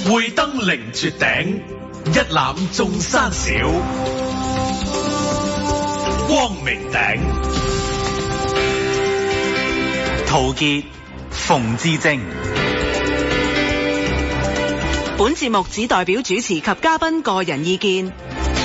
會登凌絕頂，一覽眾山小。光明頂， 陶傑、馮智政。 本節目只代表主持及嘉賓個人意見。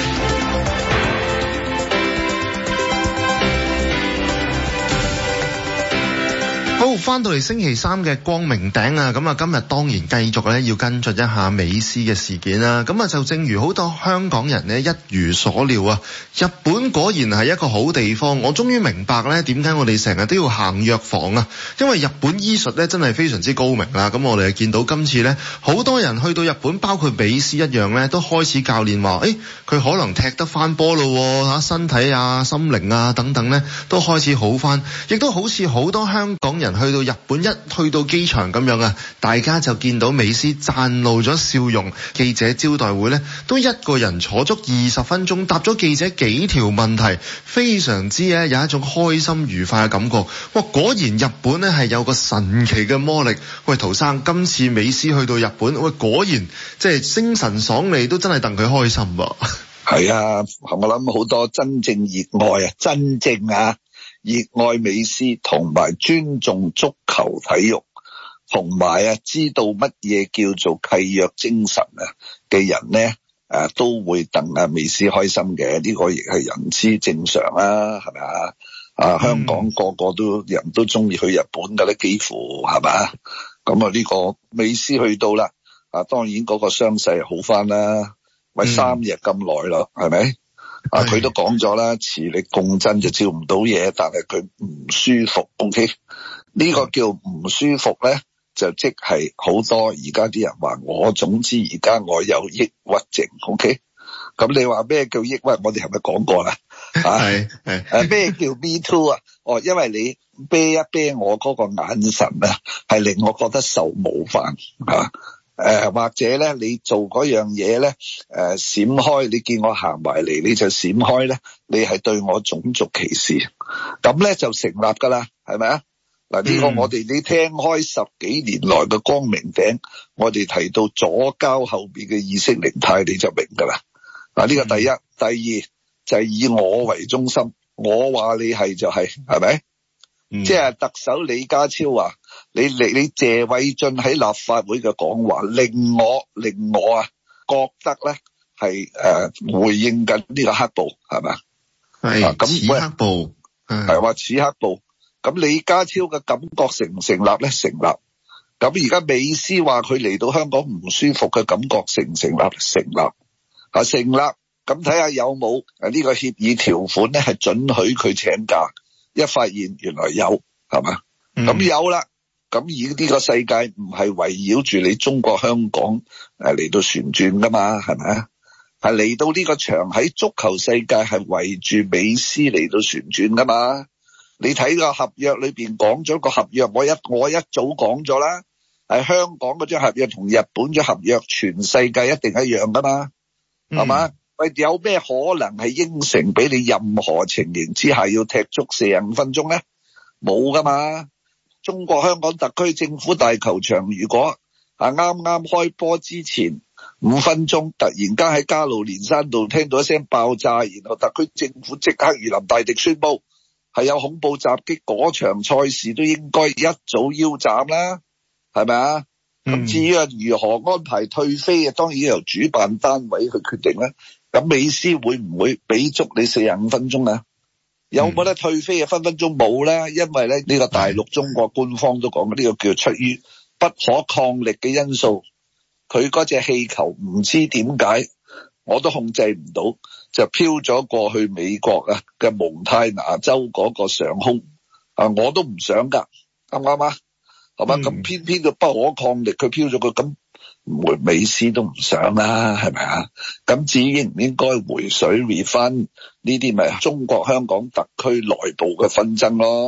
好，翻到嚟星期三嘅光明頂啊，咁啊今日當然繼續咧要跟進一下美斯嘅事件啦。咁啊就正如好多香港人呢一如所料啊，日本果然係一個好地方。我終於明白咧點解我哋成日都要行藥房啊，因為日本醫術咧真係非常之高明啦。咁我哋見到今次咧好多人去到日本，包括美斯一樣咧，都開始教練話，佢可能踢得翻波咯嚇，身體啊、心靈啊等等咧都開始好翻，亦都好似好多香港人去到日本，一去到機場咁樣啊，大家就見到美斯綻露咗笑容。記者招待會呢，都一個人坐足20分鐘，答咗記者幾條問題，非常之有一種開心愉快嘅感覺。哇！果然日本呢係有個神奇嘅魔力。喂，陶生，今次美斯去到日本，喂，果然即係精神爽利，都真係戥佢開心噃。 係啊，我諗好多真正熱愛熱愛美斯同埋尊重足球體育，同埋知道乜嘢叫做契約精神嘅人呢，都會戥美斯開心嘅。呢個亦係人之正常啦，係咪啊？香港個個人都中意去日本㗎咧，幾乎係咪？咁呢個美斯去到啦，當然嗰個傷勢好翻啦，咪3日咁耐咯，係咪？佢都講咗啦，磁力共振就照唔到嘢，但係佢唔舒服。OK， 呢個叫唔舒服咧，就即係好多而家啲人話總之而家我有抑鬱症。OK， 咁你話咩叫抑鬱？我哋係咪講過啦？係咩叫 me too 啊？因為你啤一啤我嗰個眼神啊，係令我覺得受冒犯啊。或者咧，你做嗰樣嘢咧，閃開，你見我行埋嚟，你就閃開咧，你係對我種族歧視，咁咧就成立噶啦，係咪啊？嗱，呢個我哋你聽開10幾年來嘅光明頂，我哋提到左膠後邊嘅意識形態，你就明噶啦。嗱，呢個第一，第二就係以我為中心，我話你係就係咪？即係特首李家超話你謝偉俊喺立法會嘅講話令我覺得咧係回應緊呢個黑暴，係咪？係咁似黑暴，係話似黑暴。咁李家超嘅感覺成唔成立咧？成立。咁而家美斯話佢嚟到香港唔舒服嘅感覺成唔成立？成立。成立。咁睇下有冇呢個協議條款咧係准許佢請假。一發現原來有，係嘛？咁有啦。咁而呢個世界唔係圍繞住你中國香港嚟到旋轉噶嘛，係咪啊？係嚟到呢個場喺足球世界係圍住美斯嚟到旋轉噶嘛？你睇個合約裏邊講咗個合約，我一早講咗啦，係香港嗰張合約同日本張合約全世界一定一樣噶嘛，係嘛？喂，有咩可能係應承俾你任何情形之下要踢足45分鐘咧？冇噶嘛！中國香港特區政府大球場如果啱啱開波之前5分鐘突然間喺加路連山道聽到一聲爆炸，然後特區政府即刻如臨大敵宣布係有恐怖襲擊，嗰場賽事都應該一早腰斬啦，係咪啊？咁至於如何安排退飛，當然由主辦單位去決定啦。咁美斯會唔會俾足你45分鐘啊？有冇得退飛啊？分分鐘冇啦，因為咧呢個大陸中國官方都講呢個叫出於不可抗力嘅因素，佢嗰隻氣球唔知點解我都控制唔到，就飄咗過去美國嘅蒙太拿州嗰個上空我都唔想噶，啱唔啱啊？係嘛？咁偏偏佢不可抗力，佢飄咗個咁。美斯都唔想啦，係咪啊？咁至於應唔應該回水 refund 呢啲咪中國香港特區內部嘅紛爭咯？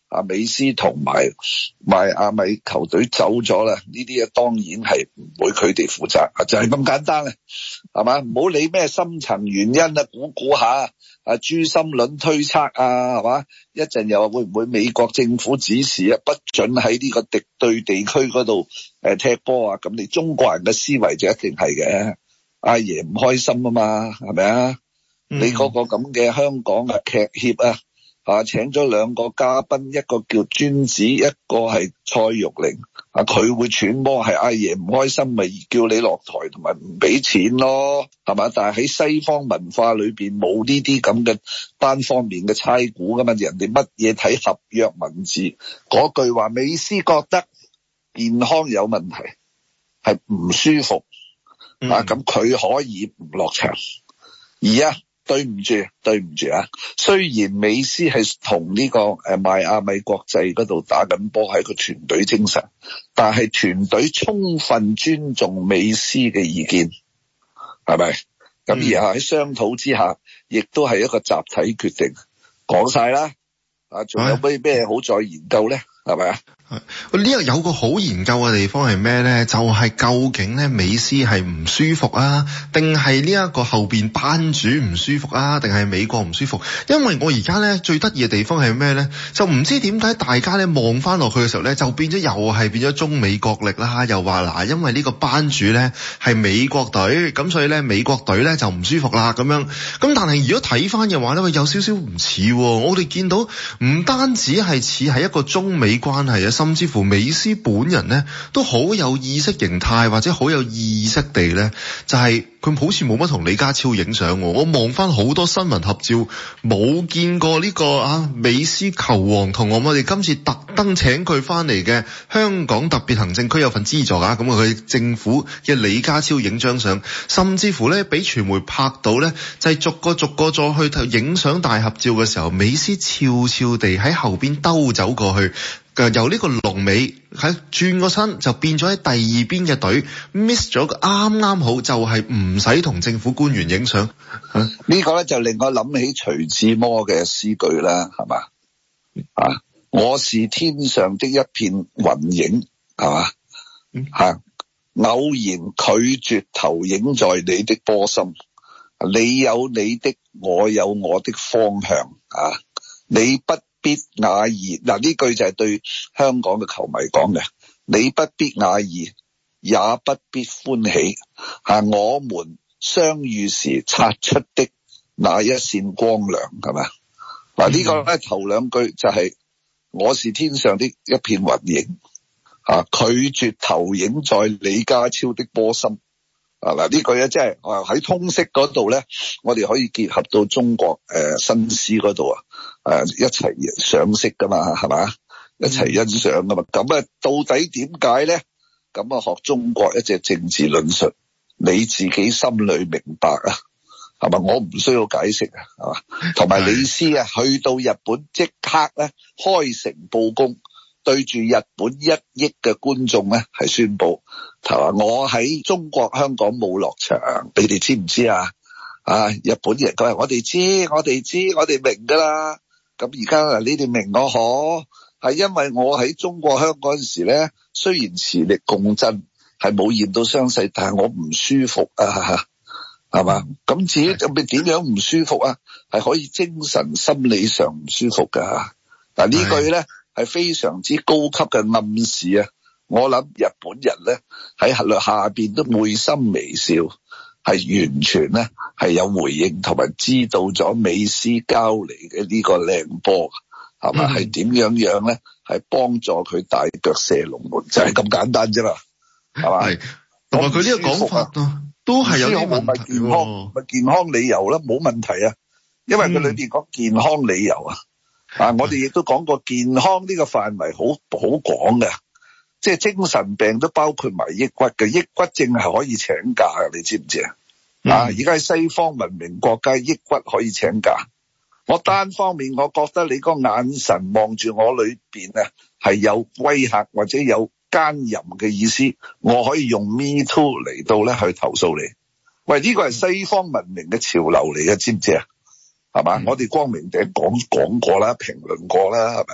美斯同埋邁阿密球隊走咗啦，呢啲當然係唔會佢哋負責，就係咁簡單啊，係嘛？唔好理咩深層原因啊，估下珠心論推測啊，係嘛？一陣又話會唔會美國政府指示啊，不准喺呢個敵對地區嗰度踢波啊？咁你中國人嘅思維就一定係嘅，阿爺唔開心啊嘛，係咪啊？你嗰個咁嘅香港劇協請咗兩個嘉賓，一個叫尊子，一個係蔡玉玲，佢會揣摩係阿爺唔開心，咪叫你落台同埋唔俾錢咯，係嘛？但係喺西方文化裏邊冇呢啲咁嘅單方面嘅猜估噶嘛，人哋乜嘢睇合約文字，嗰句話美斯覺得健康有問題，係唔舒服，咁佢可以唔落場，對唔住啊！雖然美斯係同呢個邁阿密國際嗰度打緊波，係個團隊精神，但係團隊充分尊重美斯嘅意見，係咪？咁而喺商討之下，亦都係一個集體決定，講晒啦。仲有咩好再研究咧？係咪啊？ 呢個有個好研究嘅地方係咩咧？就係究竟咧美斯係唔舒服啊，定係呢一個後邊班主唔舒服啊，定係美國唔舒服？因為我而家咧最得意嘅地方係咩咧？就唔知點解大家咧望翻落去嘅時候咧，就變咗中美角力啦，又話嗱，因為呢個班主咧係美國隊，咁所以咧美國隊咧就唔舒服啦咁樣。咁但係如果睇翻嘅話咧，有少少唔似，我哋見到唔單止係似係一個中美關係啊，甚至乎美斯本人咧都好有意識形態或者好有意識地咧，就係佢好似冇乜同李家超影相。我望翻好多新聞合照，冇見過呢個美斯球王同我哋今次特登請佢翻嚟嘅香港特別行政區有份資助咁佢政府嘅李家超影張相，甚至乎咧俾傳媒拍到咧，就係逐個再去影相大合照嘅時候，美斯悄悄地喺後邊兜走過去。由呢個龍尾喺轉個身就變咗喺第二邊嘅隊 miss 咗個啱好，就係唔使同政府官員影相。 呢個咧就令我諗起徐志摩嘅詩句啦，係嘛？我是天上的一片雲影，係嘛？偶然拒絕投影在你的波心，你有你的，我有我的方向你不必訝異，呢句就係對香港嘅球迷講嘅。你不必訝異，也不必歡喜，我們相遇時擦出的那一線光亮，係咪？呢個咧頭兩句就係我是天上的一片雲影，拒絕投影在李家超的波心。呢句咧即係喺通識嗰度咧，我哋可以結合到中國新詩嗰度一齊賞識噶嘛，係嘛？一齊欣賞噶嘛。咁到底點解咧？咁學中國一隻政治論述，你自己心裏明白係嘛？我唔需要解釋係嘛？同埋李斯去到日本即刻咧開誠佈公，對住日本1億嘅觀眾咧係宣佈，我喺中國香港冇落場，你哋知唔知啊？日本人佢話我哋知，我哋明噶啦。咁而家你哋明我可係因為我喺中國香港嗰陣時咧，雖然磁力共振係冇驗到傷勢，但係我唔舒服係嘛？咁至於咁你點樣唔舒服係可以精神心理上唔舒服噶。呢句咧係非常之高級嘅暗示我諗日本人咧喺下邊都會心微笑，係完全咧係有回應同埋知道咗美斯交嚟嘅呢個靚波係嘛？係點樣咧？係幫助佢大腳射龍門，就係咁簡單啫嘛，係嘛？係同埋佢呢個講法都係有啲問題咪健康理由啦，冇問題因為佢裏邊講健康理由我哋亦都講過健康呢個範圍好廣嘅，即係精神病都包括埋抑鬱嘅，抑鬱症係可以請假嘅，你知唔知而家喺西方文明國家，抑鬱可以請假。我單方面我覺得你個眼神望住我裏邊係有威嚇或者有奸淫嘅意思，我可以用 Me Too 嚟到咧去投訴你。喂，呢個係西方文明嘅潮流嚟嘅，知唔知係嘛？我哋光明頂講過啦，評論過啦，係咪？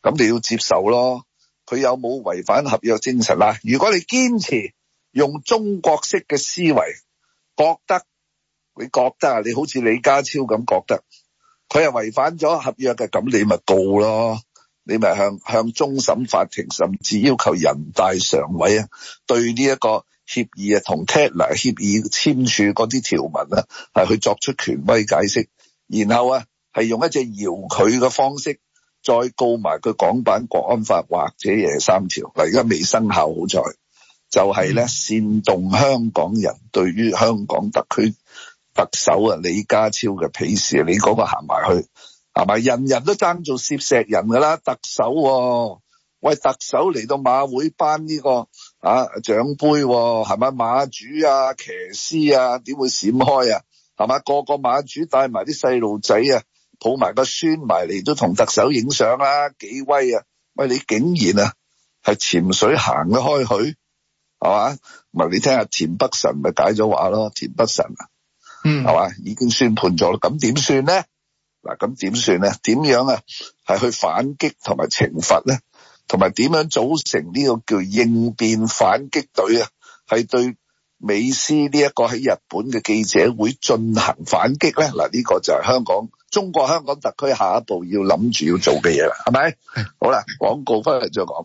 咁你要接受咯。佢有冇違反合約精神啦？如果你堅持用中國式嘅思維，你覺得你好似李家超咁覺得佢係違反咗合約嘅，咁你咪告咯，你咪向終審法庭甚至要求人大常委啊對呢一個協議啊同 Tatler 協議簽署嗰啲條文啊係去作出權威解釋，然後啊係用一隻遙距嘅方式再告埋佢港版國安法或者23條，嗱而家未生效，好在就係咧煽動香港人對於香港特區特首啊李家超嘅鄙視，你嗰個行埋去係咪？人人都爭做攝石人噶啦，特首喂，特首嚟到馬會頒呢個獎杯係咪？馬主啊騎師啊點會閃開啊係咪？個個馬主帶埋啲細路仔啊抱埋個孫埋嚟都同特首影相啦，幾威啊！喂，你竟然啊係潛水行得開去係嘛？咪你聽下田北辰咪解咗話咯，田北辰係嘛已經宣判咗啦，咁點算咧？嗱，咁點算咧？點樣啊係去反擊同埋懲罰咧？同埋點樣組成呢個叫應變反擊隊啊？係對美斯呢一個喺日本嘅記者會進行反擊咧？嗱，呢個就係中國香港特區下一步要諗住要做嘅嘢啦，係咪？好啦，廣告翻嚟再講。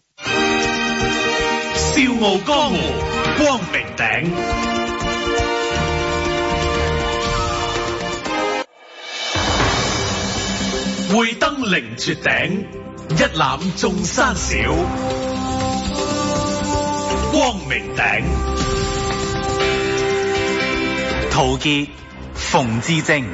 笑傲江湖，光明頂，會登凌絕頂，一覽眾山小。光明頂， 陶傑、馮智政。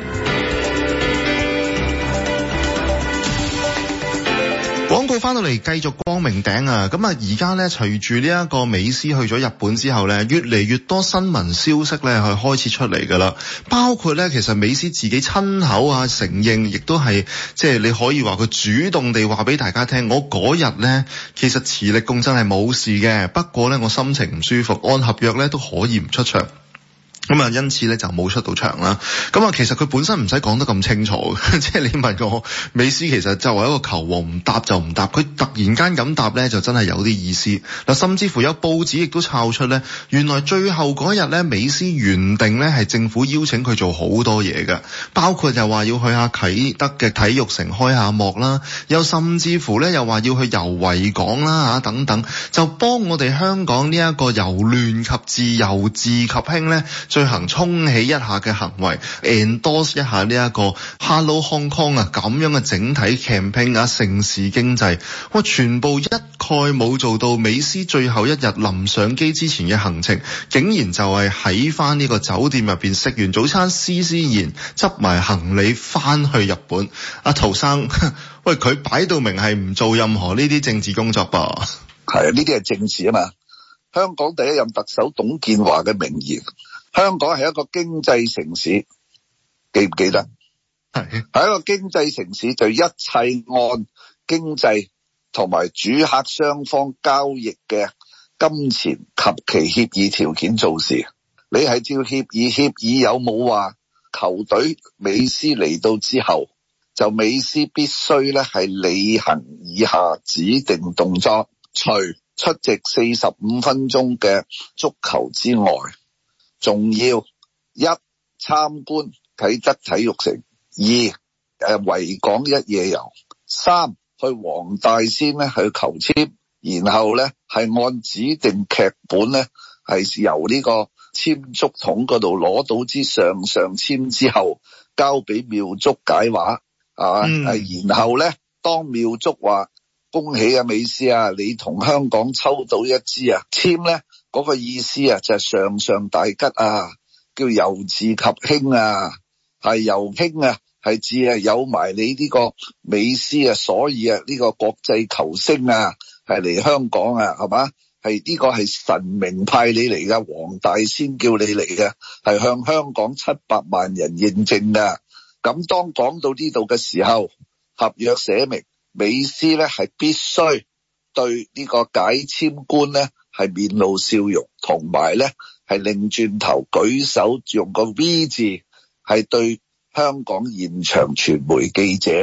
廣告翻到嚟繼續光明頂啊！咁啊，而家咧隨住呢一個美斯去咗日本之後咧，越嚟越多新聞消息咧係開始出嚟噶啦。包括咧，其實美斯自己親口承認，亦都係即係你可以話佢主動地話俾大家聽，我嗰日咧其實磁力共振係冇事嘅，不過咧我心情唔舒服，按合約咧都可以唔出場。咁啊，因此咧就冇出到場啦。咁啊，其實佢本身唔使講得咁清楚，即係你問我美斯其實作為一個球王唔答就唔答，佢突然間咁答咧就真係有啲意思。嗱，甚至乎有報紙亦都抄出咧，原來最後嗰日咧美斯原定咧係政府邀請佢做好多嘢嘅，包括就話要去下啟德嘅體育城開下幕啦，又甚至乎咧又話要去遊維港啦等等，就幫我哋香港呢一個由亂及治由治及興咧進行衝起一下嘅行為 endorse 一下呢一個 Hello Hong Kong 咁樣嘅整體 campaign 城市經濟，全部一概冇做到。美斯最後一日臨上機之前嘅行程，竟然就係喺翻呢個酒店入邊食完早餐，施施然執埋行李翻去日本。阿陶生，喂，佢擺到明係唔做任何呢啲政治工作噃。 係啊，呢啲係政治啊嘛。香港第一任特首董建華嘅名言，香港係一個經濟城市，記唔記得？係一個經濟城市，就一切按經濟同埋主客雙方交易嘅金錢及其協議條件做事。你係照協議有冇話球隊美斯嚟到之後，就美斯必須咧係履行以下指定動作，除出席45分鐘嘅足球之外，仲要一參觀啟德體育城，二維港一夜遊，三去黃大仙咧去求簽，然後咧係按指定劇本咧係由呢個簽足筒嗰度攞到支上簽之後，交俾妙竹解話然後咧當妙竹話恭喜啊美斯啊，你同香港抽到一支簽咧，嗰個意思就係上大吉叫由治及興係由興係指有埋你呢個美斯所以呢個國際球星係嚟香港係嘛？係呢個係神明派你嚟噶，黃大仙叫你嚟嘅，係向香港700萬人認證噶。咁當講到呢度嘅時候，合約寫明美斯咧係必須對呢個解簽官咧係面露笑容，同埋咧係擰轉頭舉手用個 V 字，係對香港現場傳媒記者咧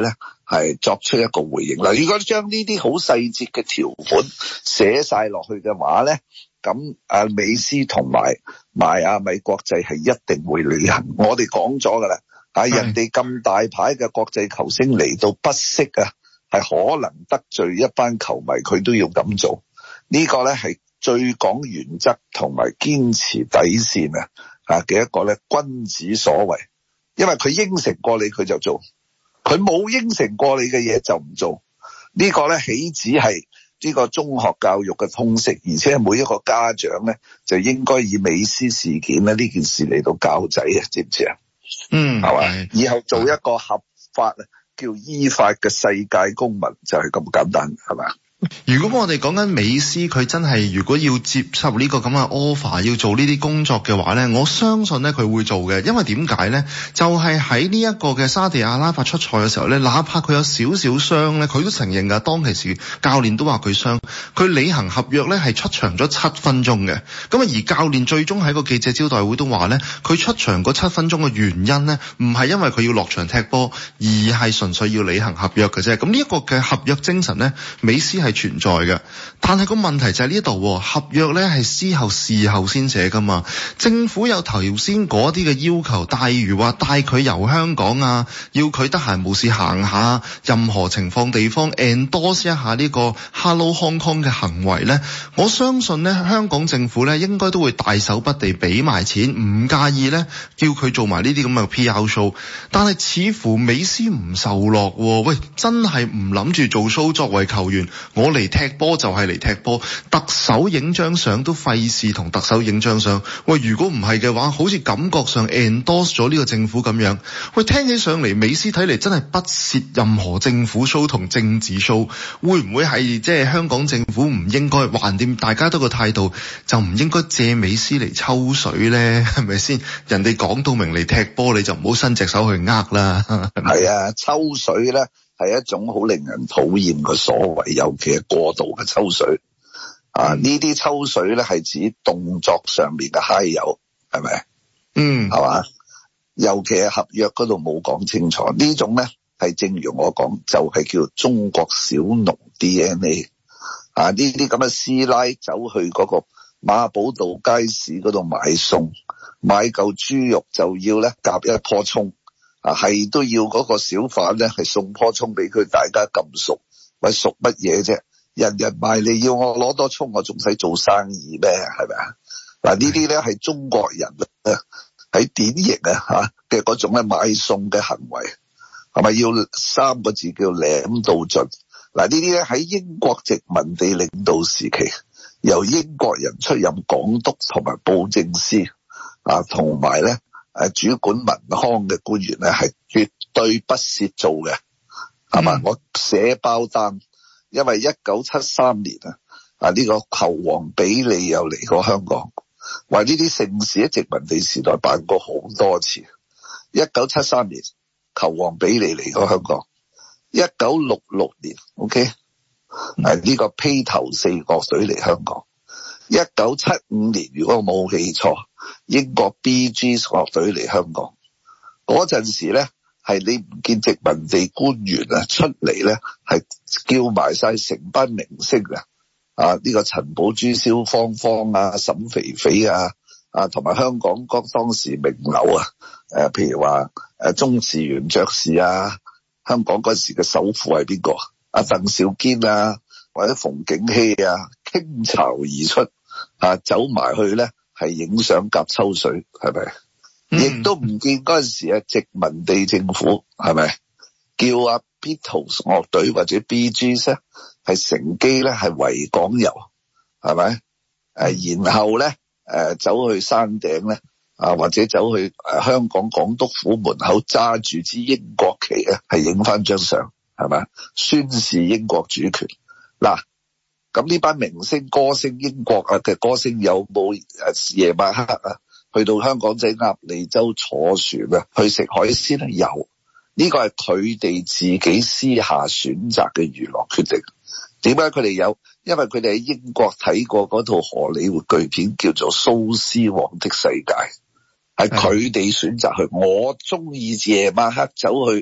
係作出一個回應。嗱，如果將呢啲好細節嘅條款寫晒落去嘅話咧，咁美斯同埋邁阿密國際係一定會履行。我哋講咗噶啦，人哋咁大牌嘅國際球星嚟到不惜啊，係可能得罪一班球迷，佢都要咁做。呢個咧係最講原則同埋堅持底線嘅一個咧君子所為。因為佢應承過你佢就做，佢冇應承過你嘅嘢就唔做。呢個咧豈止係呢個中學教育嘅通識，而且每一個家長咧就應該以美斯事件咧呢件事嚟到教仔啊，知唔知啊？係嘛？以後做一個合法叫依法嘅世界公民就係咁簡單，係嘛？ 如果我哋講緊美斯，佢真係如果要接受呢個咁嘅 offer， 要做呢啲工作嘅話呢，我相信呢佢會做嘅。因為點解呢？就係喺呢一個嘅沙地阿拉伯出賽嘅時候呢，哪怕佢有少少傷呢，佢都承認㗎。當其時教練都話佢傷，佢履行合約呢係出場咗7分鐘嘅。咁而教練最終喺個記者招待會都話呢，佢出場嗰7分鐘嘅原因呢，唔係因為佢要落場踢波，而係純粹要履行合約嘅啫。咁呢一個嘅合約精神呢，美斯係存在嘅，但係個問題就係呢度，合約呢係事後先寫噶嘛。政府有頭先嗰啲嘅要求，例如話帶佢遊香港啊，要佢得閒無事行下任何情況地方 endorse 一下呢個 Hello Hong Kong 嘅行為呢。我相信呢，香港政府呢應該都會大手筆地俾埋錢，唔介意呢叫佢做埋呢啲咁嘅 PR show。但係似乎美斯唔受落，喂，真係唔諗住做 show。作為球員，我嚟踢波就係嚟踢波，特首影張相都費事同特首影張相。喂，如果唔係嘅話，好似感覺上 endorse 咗呢個政府咁樣。喂，聽起上嚟美斯睇嚟真係不屑任何政府 show 同政治 show。會唔會係即係香港政府唔應該橫掂大家都個態度，就唔應該借美斯嚟抽水呢？係咪先？人哋講到明嚟踢波，你就唔好伸隻手去呃啦。 係啊，抽水呢係一種好令人討厭嘅所謂，尤其係過度嘅抽水。呢啲抽水咧係指動作上面嘅揩油，係咪？係嘛？尤其係合約嗰度冇講清楚，呢種咧係正如我講，就係叫中國小農 DNA。呢啲咁嘅師奶走去嗰個馬寶道街市嗰度買餸，買嚿豬肉就要咧夾一棵葱。係都要嗰個小販咧係送棵葱俾佢，大家咁熟，喂，熟乜嘢啫？人人賣你要我攞多葱，我仲使做生意咩？係咪啊？嗱，呢啲咧係中國人喺典型嘅嗰種咧買餸嘅行為，係咪要3個字叫舐到盡？嗱，呢啲咧喺英國殖民地領導時期，由英國人出任港督同埋布政司同埋咧主管民康嘅官員咧係絕對不屑做嘅，係嘛？我寫包單，因為1973年呢個球王比利又嚟過香港，話呢啲盛事喺殖民地時代辦過好多次。1973年球王比利嚟過香港，1966年 OK 呢個披頭四樂隊嚟香港，1975年如果我冇記錯，英國 Bee Gees 樂隊嚟香港。嗰陣時咧係你唔見殖民地官員出嚟咧係叫埋晒成班明星呢個陳寶珠、蕭芳芳沈肥肥同埋香港當時名流譬如話鍾志源爵士香港嗰時嘅首富係邊個？鄧肇堅或者馮景禧傾巢而出走埋去咧係影相夾抽水，係咪？亦都唔見嗰陣時殖民地政府係咪叫Beatles 樂隊或者 Bee Gees 咧係乘機咧係維港遊，係咪？然後咧走去山頂咧或者走去香港港督府門口揸住支英國旗咧係影翻張相，係咪？宣示英國主權。嗱，咁呢班明星歌星英國嘅歌星有冇夜晚黑去到香港仔鴨脷洲坐船去食海鮮？有，呢個係佢哋自己私下選擇嘅娛樂決定。點解佢哋有？因為佢哋喺英國睇過嗰套荷里活巨片叫做《蘇斯王的世界》，係佢哋選擇去。我中意夜晚黑走去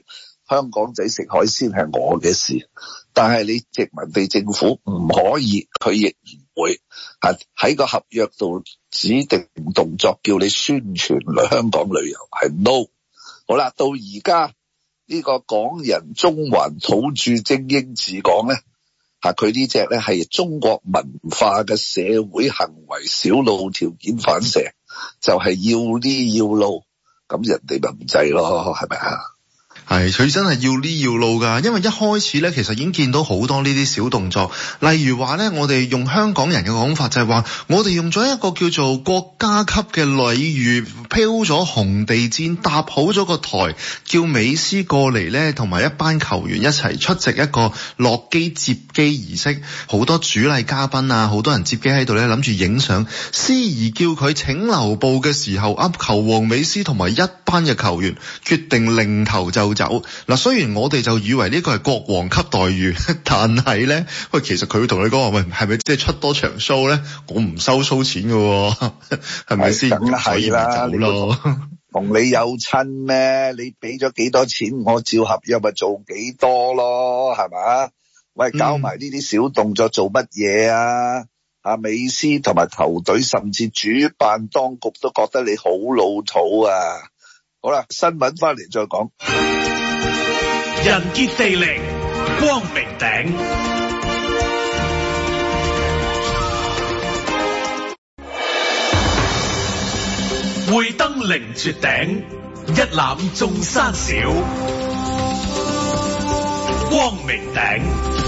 香港仔食海鮮係我嘅事，但係你殖民地政府唔可以，佢亦唔會喺個合約度指定動作叫你宣傳嚟香港旅遊，係 no。 好啦，到而家呢個港人中環土著精英治港咧，佢呢隻咧係中國文化嘅社會行為小腦條件反射，就係要呢要路，咁人哋咪唔制咯，係咪啊？ 係，佢真係要呢要路㗎，因為一開始咧，其實已經見到好多呢啲小動作，例如話咧，我哋用香港人嘅講法就係話，我哋用咗一個叫做國家級嘅禮遇，飄咗紅地氈，搭好咗個台，叫美斯過嚟咧，同埋一班球員一齊出席一個落機接機儀式，好多主禮嘉賓啊，好多人接機喺度咧，諗住影相，司儀叫佢請留步嘅時候，球王美斯同埋一班嘅球員決定擰頭就走。嗱，雖然我哋就以為呢個係國王級待遇，但係咧，喂，其實佢會同你講話，喂，係咪即係出多場 show 咧？我唔收 show 錢嘅，係咪先？ 梗係啦， 走咯， 同你有親咩？你俾咗幾多錢，我照合約咪做幾多咯，係咪？喂，搞埋呢啲小動作做乜嘢啊？美斯同埋球隊甚至主辦當局都覺得你好老土啊！好啦，新聞翻嚟再講。 人傑地靈，光明頂。會登凌絕頂，一覽眾山小。光明頂。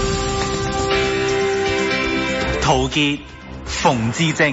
陶傑、馮智政。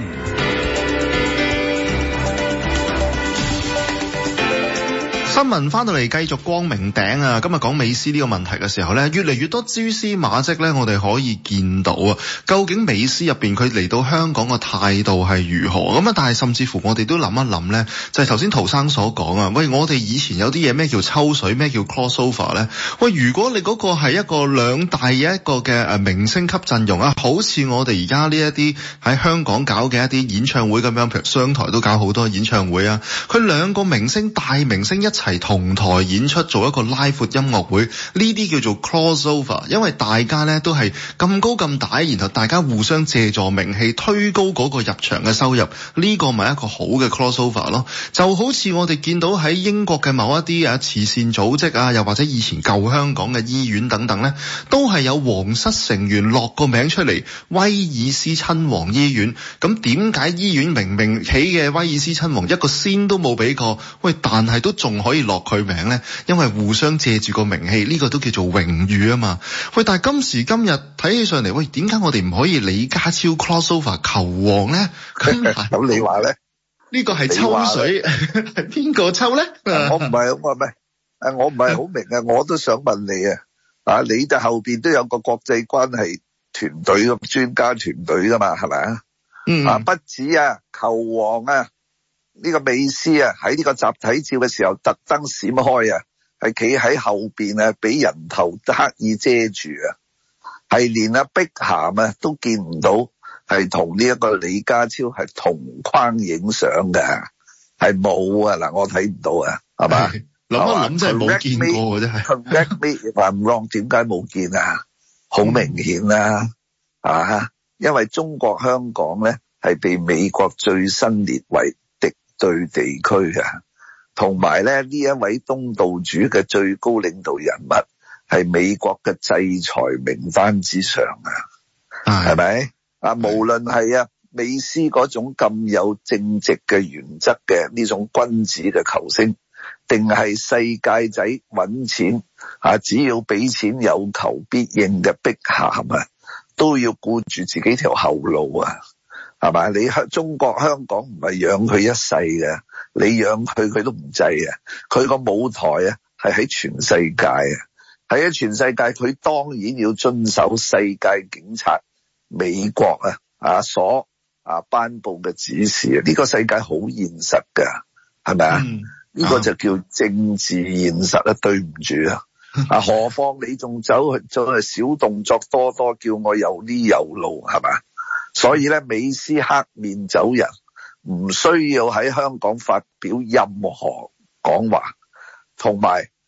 新聞翻到嚟繼續光明頂啊！今日講美斯呢個問題嘅時候呢，越嚟越多蛛絲馬跡呢，我哋可以見到啊，究竟美斯入邊佢嚟到香港嘅態度係如何咁啊？但係甚至乎我哋都諗一諗呢，就係頭先陶生所講啊，喂，我哋以前有啲嘢咩叫抽水，咩叫 crossover 呢？喂，如果你嗰個係一個兩大嘅一個嘅明星級陣容啊，好似我哋而家呢一啲喺香港搞嘅一啲演唱會咁樣，譬如商台都搞好多演唱會啊，佢兩個明星大明星一齊係同台演出做一個拉闊音樂會，呢啲叫做 crossover， 因為大家呢都係咁高咁大，然後大家互相借助名氣推高嗰個入場嘅收入，呢個咪一個好嘅 crossover 咯。就好似我哋見到喺英國嘅某一啲慈善組織啊，又或者以前舊香港嘅醫院等等呢，都係有皇室成員落個名出嚟，威爾斯親王醫院。咁點解醫院明明起嘅威爾斯親王一個仙都冇俾過，喂，但係都仲可以落佢名呢？因為互相借住個名氣，呢個都叫做榮譽啊嘛。喂，但係今時今日睇起上嚟，喂，點解我哋唔可以李家超 crossover 球王呢？咁你話呢？ 呢個係抽水，係邊個抽呢？ 我唔係好明啊！我都想問你啊，你就後邊都有個國際關係團隊咁專家團隊噶嘛，係咪啊？不止啊，球王啊，呢個美斯啊，喺呢個集體照嘅時候特登閃開啊，係企喺後邊啊，俾人頭刻意遮住啊，係連阿碧咸啊都見唔到，係同呢一個李家超係同框影相嘅，係冇啊！嗱，我睇唔到啊，係嘛？諗一諗真係冇見過嘅，真係。Correct me if I'm wrong，點解冇見啊？好明顯啦，因為中國香港咧係被美國最新列為敵對地區嘅，同埋咧呢一位東道主嘅最高領導人物係美國嘅制裁名單之上啊，係咪？無論係美斯嗰種咁有正直嘅原則嘅呢種君子嘅球星，定係世界仔揾錢只要俾錢有求必應嘅碧咸啊，都要顧住自己條後路啊，係咪？你中國香港唔係養佢一世嘅，你養佢佢都唔制啊！佢個舞台係喺全世界喺全世界，佢當然要遵守世界警察美國所頒布嘅指示啊！呢個世界好現實噶，係咪啊？呢個就叫政治現實啊！對唔住何況你仲走去小動作多，叫我有呢有路，係咪？所以咧，美斯黑面走人，唔需要喺香港發表任何講話，同埋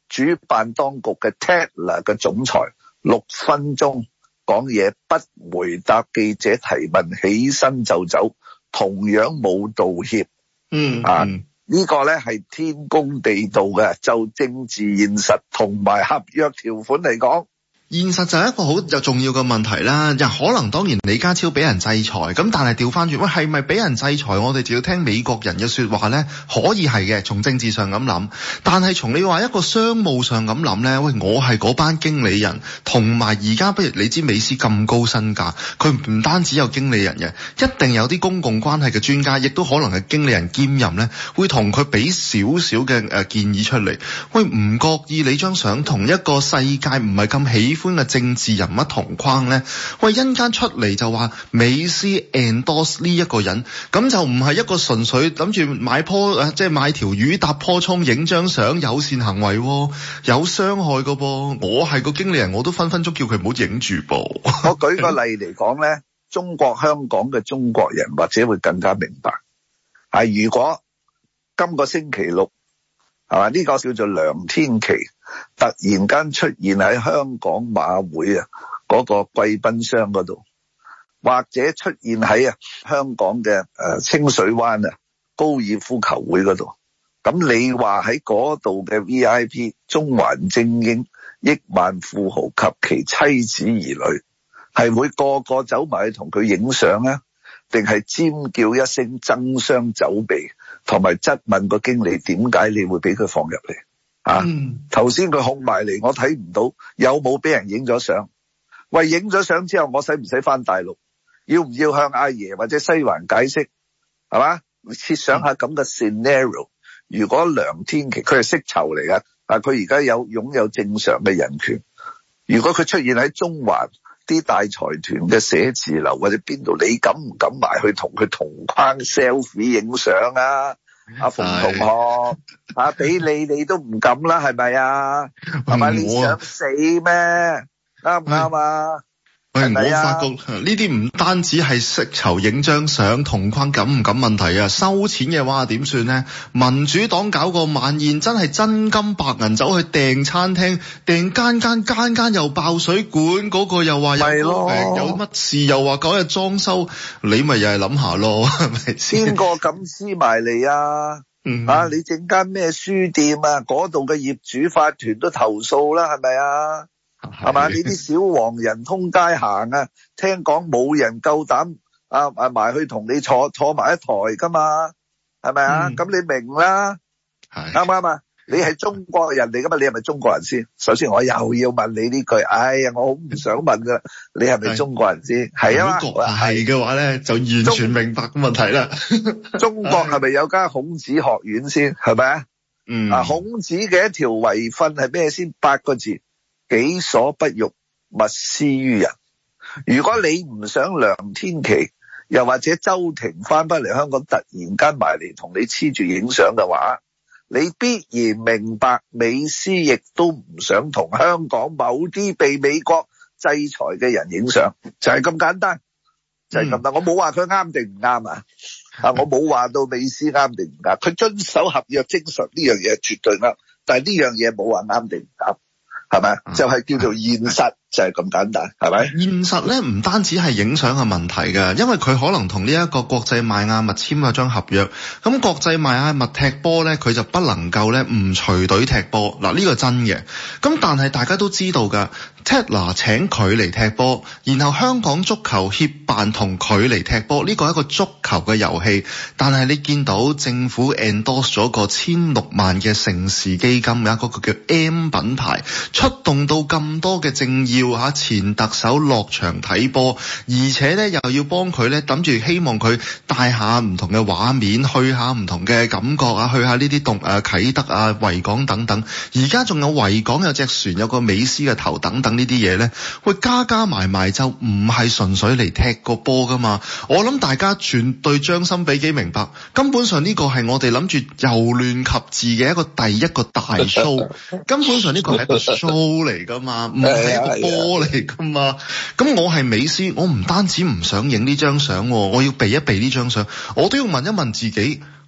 主辦當局嘅 Tatler 嘅總裁6分鐘講嘢，不回答記者提問，起身就走，同樣冇道歉。呢個咧係天公地道嘅，就政治現實同埋合約條款嚟講。 現實就係一個好重要嘅問題啦，可能當然李家超俾人制裁，咁但係調翻轉，喂係咪俾人制裁？我哋就要聽美國人嘅說話呢？可以係嘅，從政治上咁諗，但係從你話一個商務上咁諗呢？喂，我係嗰班經理人，同埋而家不如你知美斯咁高身價，佢唔單止有經理人嘅，一定有啲公共關係嘅專家，亦都可能係經理人兼任呢，會同佢俾少少嘅建議出嚟。喂，唔覺意你張相同一個世界唔係咁喜歡嘅政治人物同框呢？喂，一間出嚟就話美斯 endorse 呢一個人，咁就唔係一個純粹諗住買條魚搭棵蔥影張相友善行為，有傷害噶噃。我係個經理人，我都分分鐘叫佢唔好影住噃。 我舉個例嚟講呢，中國香港嘅中國人或者會更加明白，如果今個星期六係嘛，呢個叫做梁天琦突然間出現喺香港馬會嗰個貴賓箱嗰度，或者出現喺香港嘅清水灣高爾夫球會嗰度，咁你話喺嗰度嘅 VIP 中環精英、億萬富豪及其妻子兒女係會個個走埋去同佢影相啊，定係尖叫一聲爭相走避，同埋質問個經理點解你會俾佢放入嚟？頭先佢控埋嚟，我睇唔到有冇俾人影咗相。喂，影咗相之後，我使唔使翻大陸？要唔要向阿爺或者西環解釋？係嘛？設想下咁嘅 scenario， 如果梁天琦佢係釋囚嚟噶，但佢而家擁有正常嘅人權。如果佢出現喺中環啲大財團嘅寫字樓或者邊度，你敢唔敢埋去同佢同框 selfie 影相啊？阿馮同學，俾你都唔敢啦，係咪啊？係咪你想死咩？啱唔啱啊？ 我發覺呢啲唔單止係釋囚影張相同框敢唔敢問題啊，收錢嘅話點算呢？民主黨搞個晚宴真係真金白銀走去訂餐廳，訂間又爆水管，嗰個又話有病有乜事，又話嗰日裝修，你咪又係諗下咯，係咪先？ 邊個敢黐埋嚟啊？你整間咩書店啊？嗰度嘅業主法團都投訴啦，係咪啊？係嘛？呢啲小黃人通街行啊，聽講冇人夠膽埋去同你坐埋一台噶嘛？係咪啊？咁你明啦，啱唔啱啊？你係中國人嚟噶嘛？你係咪中國人先？首先我又要問你呢句，哎呀，我好唔想問噶，你係咪中國人先？係啊嘛？ 係嘅話咧，就完全明白個問題啦。 中國係咪有間孔子學院先？係咪啊？孔子嘅一條遺訓係咩先？8個字。己所不欲，勿施於人。如果你唔想梁天琦又或者周庭翻嚟香港突然間埋嚟同你黐住影相嘅話，你必然明白美斯亦都唔想同香港某啲被美國制裁嘅人影相，就係咁簡單，就係咁單。我冇話佢啱定唔啱啊，我冇話到美斯啱定唔啱，佢遵守合約精神呢樣嘢絕對啱，但係呢樣嘢冇話啱定唔啱。係咪？就係叫做現實，就係咁簡單，係咪？ 現實咧唔單止係影相嘅問題㗎，因為佢可能同呢一個國際邁阿密簽咗張合約，咁國際邁阿密踢波咧，佢就不能夠咧唔隨隊踢波。嗱，呢個真嘅。咁但係大家都知道㗎，Tatler 請佢嚟踢波，然後香港足球協辦同佢嚟踢波，呢個係一個足球嘅遊戲。但係你見到政府 endorse 咗個16萬嘅盛事基金，有一個叫 M 品牌。出動到咁多嘅政要前特首落場睇波，而且咧又要幫佢咧諗住希望佢帶下唔同嘅畫面，去下唔同嘅感覺去下呢啲啟德維港等等。而家仲有維港有隻船，有個美斯嘅頭等等呢啲嘢咧，喂加埋就唔係純粹嚟踢個波噶嘛。我諗大家絕對將心比己明白，根本上呢個係我哋諗住由亂及治嘅第一個大 show， 根本上呢個係一個 show 嚟噶嘛，唔係一個波嚟噶嘛。咁我係美斯，我唔單止唔想影呢張相，我要避一避呢張相，我都要問一問自己，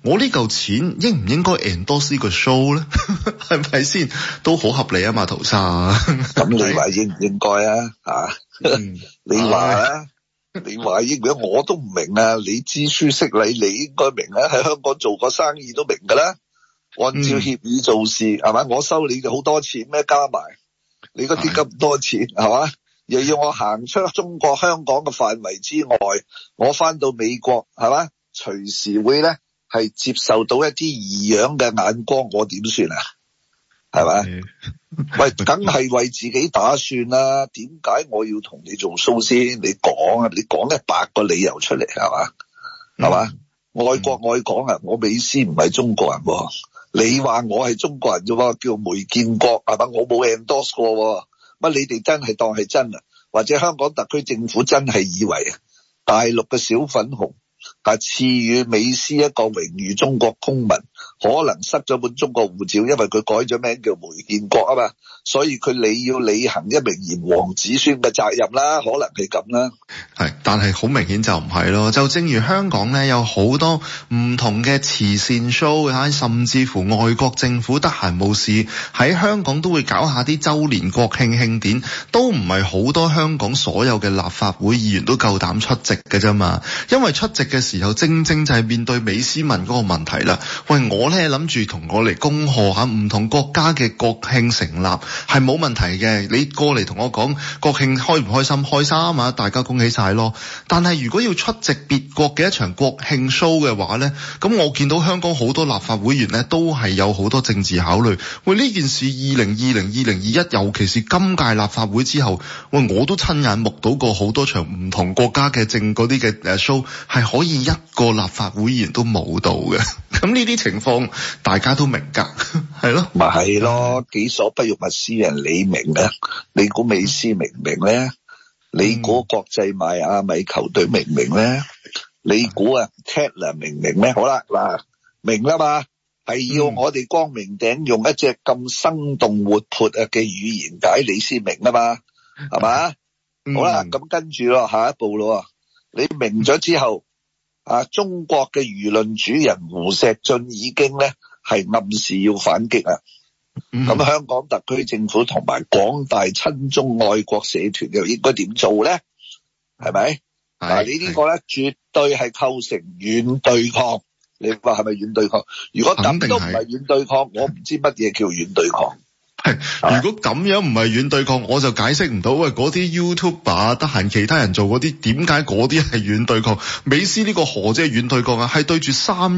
我呢嚿錢應唔應該 endorse 呢個 show 咧？係咪先？都好合理啊嘛，陶生。 咁你話應唔應該啊？你話啊？你話應唔應該？我都唔明啊！你知書識禮，你應該明啊！喺香港做過生意都明㗎啦。按照協議做事係咪？我收你好多錢咩？加埋你嗰啲咁多錢係嘛？又要我行出中國香港嘅範圍之外，我翻到美國係嘛？隨時會咧係接受到一啲異樣嘅眼光，我點算啊？係咪？喂，梗係為自己打算啦。點解我要同你做 show 先？你講啊，你講100個理由出嚟係嘛？係嘛？愛國愛港啊！我美斯唔係中國人喎，你話我係中國人啫喎，叫梅建國係嘛？我冇 endorse 過喎。乜你哋真係當係真啊？或者香港特區政府真係以為啊，大陸嘅小粉紅賜予美斯一個榮譽中國公民，可能失咗本中國護照，因為佢改咗名叫梅建國啊嘛，所以你要履行一名炎黃子孫嘅責任啦，可能係咁啦。 係，但係好明顯就唔係咯。就正如香港咧，有好多唔同嘅慈善 show，甚至乎外國政府得閒冇事喺香港都會搞下啲周年國慶慶典，都唔係好多香港所有嘅立法會議員都夠膽出席嘅啫嘛。因為出席嘅時候正正就係面對美斯文嗰個問題啦。喂，我咧諗住同我嚟恭賀下唔同國家嘅國慶成立係冇問題嘅，你過嚟同我講國慶開唔開心？開心啊，大家恭喜晒咯。但係如果要出席別國嘅一場國慶 show 嘅話咧，咁我見到香港好多立法會議員咧都係有好多政治考慮。喂，呢件事2020、2021，尤其是今屆立法會之後，喂，我都親眼目睹過好多場唔同國家嘅嗰啲嘅show係可以一個立法會議員都冇到嘅。咁呢啲情況大家都明㗎，係咯， 咪係咯，己所不欲勿施人，你明啊？你估美斯明唔明咧？你估國際邁阿密球隊明唔明咧？你估Tatler 明唔明咧？好啦，嗱，明啦嘛，係要我哋光明頂用一隻咁生動活潑嘅語言解你先明啊嘛，係嘛？好啦，咁跟住咯，下一步咯，你明咗之後，中國嘅輿論主人胡錫進已經咧係暗示要反擊啊。咁香港特區政府同埋廣大親中愛國社團又應該點做咧？係咪？你呢個咧絕對係構成軟對抗。你話係咪軟對抗？如果咁都唔係軟對抗，我唔知乜嘢叫軟對抗。 如果咁樣唔係軟對抗，我就解釋唔到。喂，嗰啲 YouTuber 得閒其他人做嗰啲，點解嗰啲係軟對抗？美斯呢個何止係軟對抗啊？係對住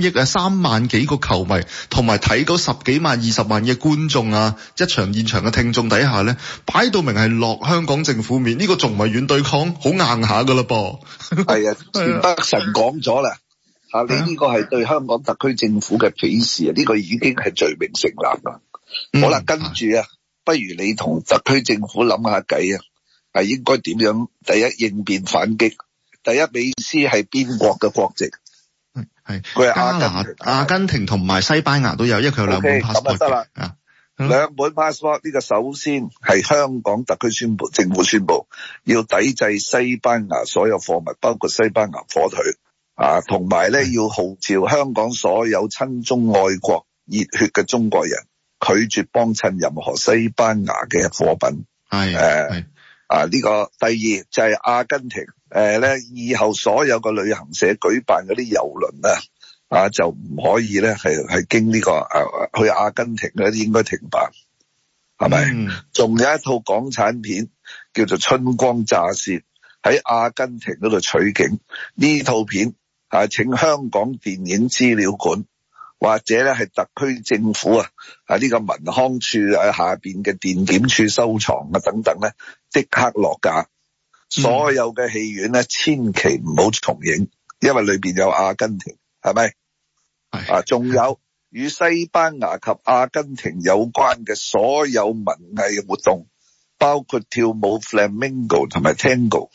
3萬幾個球迷，同埋睇嗰10幾萬、20萬嘅觀眾啊，一場現場嘅聽眾底下咧，擺到明係落香港政府面，呢個仲唔係軟對抗？好硬下噶啦噃。 係啊，田北辰講咗啦，你呢個係對香港特區政府嘅鄙視啊！呢個已經係罪名成立啦。好啦，跟住不如你同特區政府諗下計係應該點樣？第一，應變反擊。第一，美斯係邊國嘅國籍？佢係阿根廷同埋西班牙都有，因為佢有兩本 passport。咁得啦， 兩本 passport 呢個首先係香港特區政府宣布要抵制西班牙所有貨物，包括西班牙火腿同埋咧要號召香港所有親中愛國熱血嘅中國人，拒絕幫襯任何西班牙嘅貨品。呢個第二就係阿根廷以後所有個旅行社舉辦嗰啲郵輪就唔可以咧係經呢個去阿根廷嗰啲應該停辦，係咪？仲有一套港產片叫做《春光乍泄》，喺阿根廷嗰度取景。呢套片請香港電影資料館或者咧係特區政府呢個民康處下邊嘅電檢處收藏等等咧，即刻落架。所有嘅戲院咧千祈唔好重映，因為裏邊有阿根廷，係咪？仲有與西班牙及阿根廷有關嘅所有文藝活動，包括跳舞 Flamingo 同埋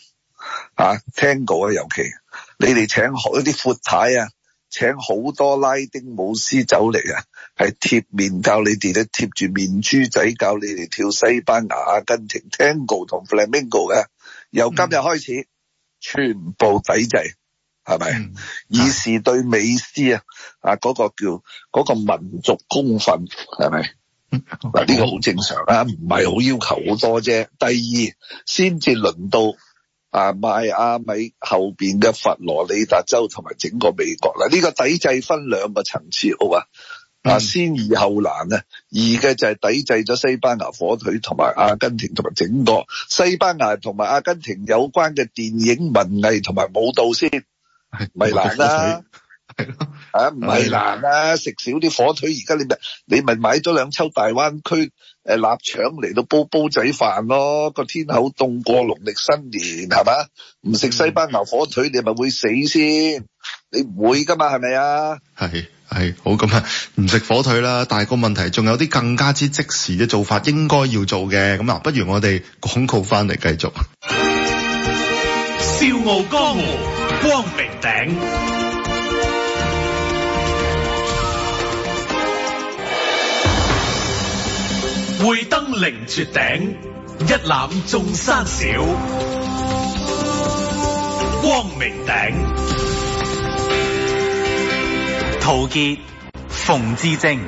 Tango，Tango 尤其你哋請一啲闊太請好多拉丁舞師走嚟係貼面教你哋咧，貼住面珠仔教你哋跳西班牙、阿根廷 Tango 同 Flamingo 嘅，由今日開始全部抵制， 係咪？以示對美斯嗰個叫嗰個民族公憤，係咪？嗱，呢個好正常啦，唔係好要求好多啫。第二，先至輪到邁阿密後邊嘅佛羅里達州同埋整個美國啦。呢個抵制分兩個層次，好啊。先易後難啊！易嘅就係抵制咗西班牙火腿同埋阿根廷同埋整個西班牙同埋阿根廷有關嘅電影文藝同埋舞蹈先，咪難啦。唔係難啊！食少啲火腿，而家你咪買咗兩抽大灣區臘腸嚟到煲仔飯咯。個天口凍過農曆新年係嘛？唔食西班牙火腿你咪會死先，你唔會噶嘛，係咪啊？ 係好咁啊，唔食火腿啦。但係個問題仲有啲更加之即時嘅做法應該要做嘅。咁啊，不如我哋廣告翻嚟繼續。 笑傲江湖，光明頂。會登凌絕頂，一覽眾山小。光明頂。 陶傑、馮智政。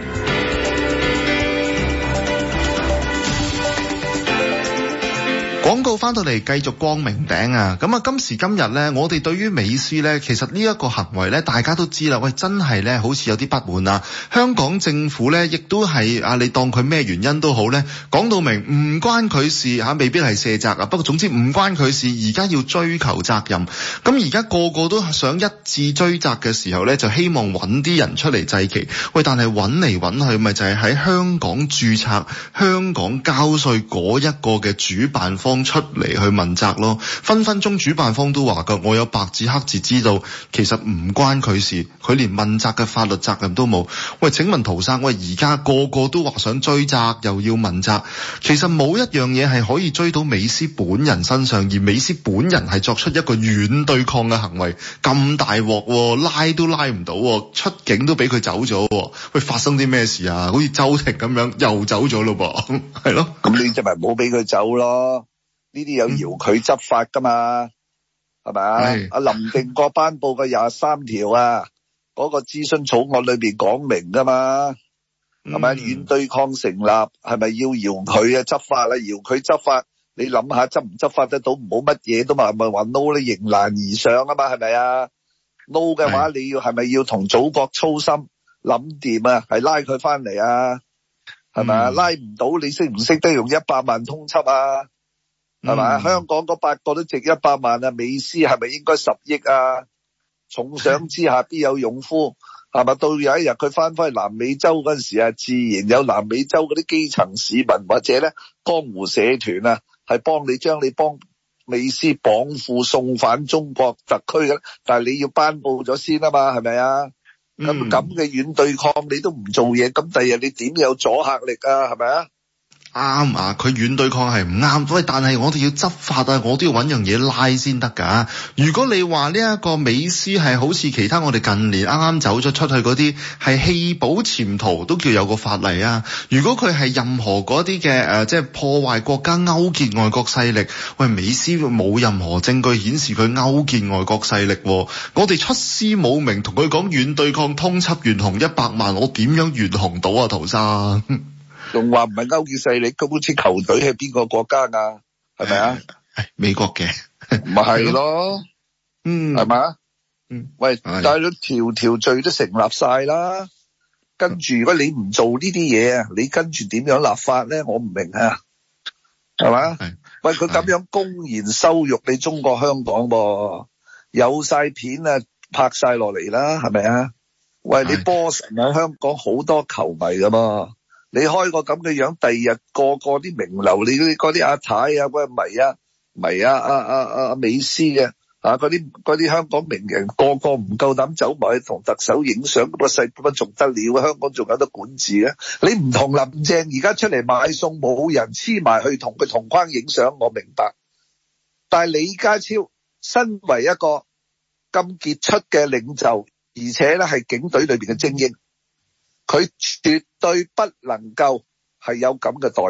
廣告翻到嚟繼續光明頂啊！咁啊，今時今日呢，我哋對於美斯呢，其實呢一個行為呢，大家都知啦。喂，真係呢，好似有啲不滿啊！香港政府呢，亦都係你當佢咩原因都好呢，講到明唔關佢事未必係卸責啊。不過總之唔關佢事，而家要追求責任。咁而家個個都想一致追責嘅時候呢，就希望揾啲人出嚟祭旗。喂，但係揾嚟揾去，咪就係喺香港註冊、香港交稅嗰一個嘅主辦方出嚟去問責咯，分分鐘主辦方都話㗎，我有白紙黑字知道，其實唔關佢事，佢連問責嘅法律責任都冇。喂，請問陶生，喂，而家個個都話想追責，又要問責，其實冇一樣嘢係可以追到美斯本人身上，而美斯本人係作出一個軟對抗嘅行為，咁大鑊，拉都拉唔到，出境都俾佢走咗。喂，發生啲咩事啊？好似周庭咁樣又走咗咯噃，係咯？ 咁你就咪唔好俾佢走咯。呢啲有遙距執法噶嘛，係咪啊？阿林定國頒布嘅23條啊，嗰個諮詢草案裏邊講明噶嘛，係咪？軟對抗成立，係咪要遙距執法啊？遙距執法，你諗下執唔執法得到？唔好乜嘢都嘛，咪話 no 你迎難而上啊嘛，係咪啊 ？no 嘅話，你要係咪要同祖國操心諗掂啊？係拉佢翻嚟啊？係咪啊？拉唔到，你識唔識得用100萬通緝啊？係咪？香港嗰8個都值100萬啊！美斯係咪應該10億啊？重賞之下必有勇夫，係咪？到有一日佢翻去南美洲嗰陣時啊，自然有南美洲嗰啲基層市民或者咧江湖社團啊，係將你幫美斯綁赴送返中國特區嘅。但係你要頒布咗先啊嘛，係咪啊？咁嘅軟對抗你都唔做嘢，咁第日你點有阻嚇力啊？係咪啊？ 啱啊！佢軟對抗係唔啱，喂！但係我哋要執法啊，我都要揾樣嘢拉先得㗎。如果你話呢一個美斯係好似其他我哋近年啱啱走咗出去嗰啲係棄保潛逃，都叫有個法例啊。如果佢係任何嗰啲嘅即係破壞國家、勾結外國勢力，喂，美斯冇任何證據顯示佢勾結外國勢力，我哋出師冇名同佢講軟對抗通緝懸紅100萬，我點樣懸紅到啊，陶生？ 仲話唔係勾結勢力，咁好似球隊係邊個國家㗎？係咪啊？ 美國嘅， 咪係咯，係咪？喂，但係條罪都成立晒啦。跟住如果你唔做呢啲嘢啊，你跟住點樣立法咧？我唔明啊，係嘛？喂，佢咁樣公然羞辱你中國香港噃，有晒片啊，拍晒落嚟啦，係咪啊？喂，你波神喺香港好多球迷㗎嘛？你開個咁嘅樣，第二日個啲名流，你嗰啲阿太啊，嗰迷啊美斯嘅嗰啲香港名人，個唔夠膽走埋去同特首影相，咁個世咁仲得了？香港仲有得管治嘅？你唔同林鄭而家出嚟買餸，冇人黐埋去同佢同框影相，我明白。但係李家超身為一個咁傑出嘅領袖，而且咧係警隊裏邊嘅精英，佢絕對不能夠係有咁嘅待遇。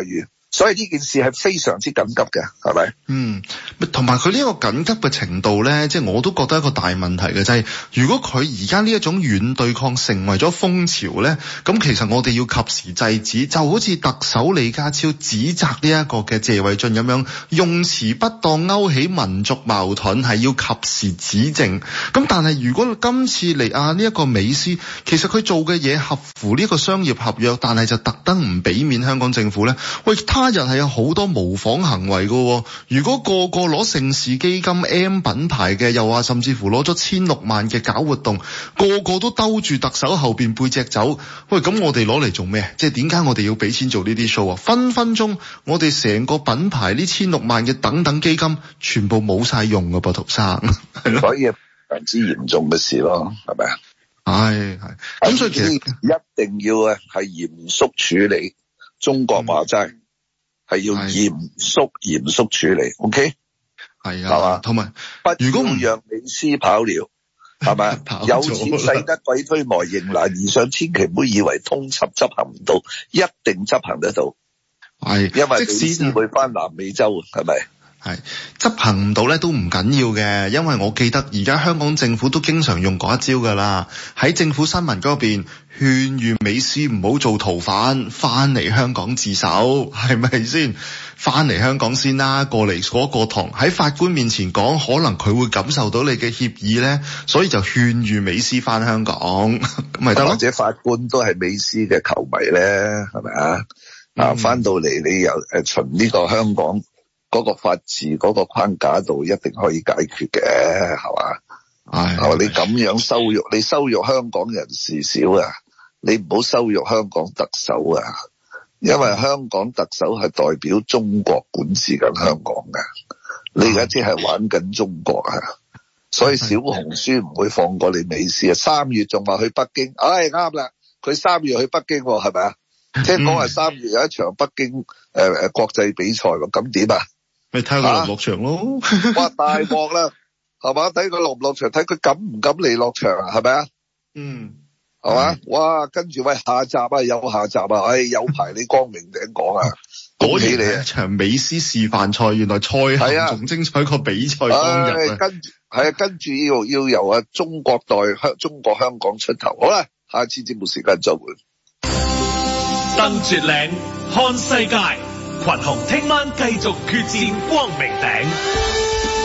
所以呢件事係非常之緊急嘅，係咪？ 同埋佢呢個緊急嘅程度咧，即係我都覺得一個大問題嘅，就係如果佢而家呢一種軟對抗成為咗風潮咧，咁其實我哋要及時制止，就好似特首李家超指責呢一個嘅謝偉俊咁樣，用詞不當勾起民族矛盾，係要及時指正。咁但係如果今次嚟呢一個美斯，其實佢做嘅嘢合乎呢個商業合約，但係就特登唔俾面香港政府咧，喂，他日係有好多模仿行為㗎。如果個個攞盛事基金 M 品牌嘅，又話甚至乎攞咗1600萬嘅搞活動，個個都兜住特首後邊背脊走，喂，咁我哋攞嚟做咩？即係點解我哋要俾錢做呢啲 show 啊？分分鐘我哋成個品牌呢1600萬嘅等等基金全部冇晒用㗎噃，陶生。 所以非常之嚴重嘅事咯，係咪啊？ 係。咁所以其實一定要係嚴肅處理。中國話齋係要嚴肅處理 ，OK？ 係係嘛？ 同埋如果唔讓美斯跑了，係咪？有錢使得鬼推磨，迎難而上，千祈唔好以為通緝執行唔到，一定執行得到。 係， 因為美斯會返南美洲，係咪？ 係執行唔到咧都唔緊要嘅，因為我記得而家香港政府都經常用嗰一招噶啦，喺政府新聞嗰邊勸喻美斯唔好做逃犯，翻嚟香港自首，係咪先？翻嚟香港先啦，過嚟嗰個堂喺法官面前講，可能佢會感受到你嘅歉意咧，所以就勸喻美斯翻香港，咁咪得咯。或者法官都係美斯嘅球迷咧，係咪啊？翻到嚟你又循呢個香港嗰個法治嗰個框架度一定可以解決嘅，係嘛？係你咁樣羞辱，你羞辱香港人士少啊，你唔好羞辱香港特首啊，因為香港特首係代表中國管治緊香港嘅，你而家即係玩緊中國啊，所以小紅書唔會放過你美斯啊！3月仲話去北京，啱啦，佢3月去北京喎，係咪啊？聽講係3月有一場北京國際比賽喎，咁點啊？ 咪睇佢落唔落場咯！ 哇，大鑊啦，係嘛？睇佢落唔落場，睇佢敢唔敢嚟落場啊？係咪啊？係嘛？哇，跟住喂，下集啊，有下集啊！有排你光明頂講啊！恭喜你啊！ 一場美斯示範賽，原來賽後仲精彩過比賽當日啊！ 跟住要由中國香港出頭。好啦，下次節目時間再會。 登絕嶺看世界，群雄聽晚繼續決戰光明頂。